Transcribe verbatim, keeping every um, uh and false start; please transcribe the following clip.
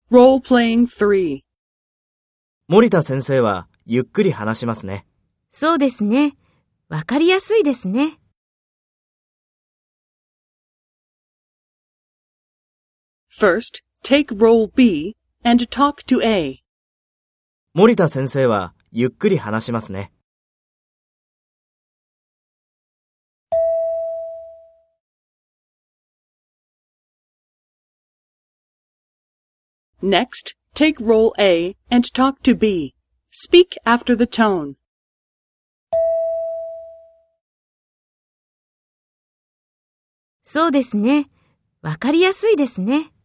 Role-playing three. 森田先生はゆっくり話しますね。 そうですね。わかりやすいですね。 First, take role B and talk to A. 森田先生はゆっくり話しますね。 Next, take role A and talk to B. Speak after the tone. そうですね。わかりやすいですね。